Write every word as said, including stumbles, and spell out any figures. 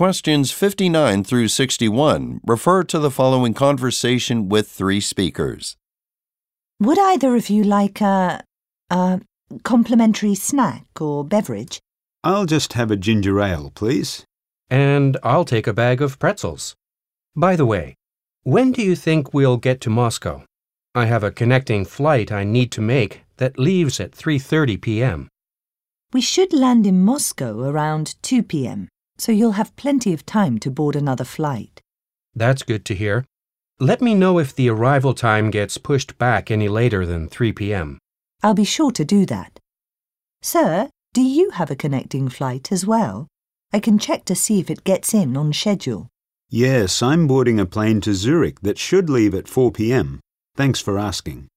questions fifty-nine through sixty-one refer to the following conversation with three speakers. Would either of you like a, a complimentary snack or beverage? I'll just have a ginger ale, please. And I'll take a bag of pretzels. By the way, when do you think we'll get to Moscow? I have a connecting flight I need to make that leaves at three thirty p.m. We should land in Moscow around two p.m., so you'll have plenty of time to board another flight. That's good to hear. Let me know if the arrival time gets pushed back any later than three p.m. I'll be sure to do that. Sir, do you have a connecting flight as well? I can check to see if it gets in on schedule. Yes, I'm boarding a plane to Zurich that should leave at four p.m. Thanks for asking.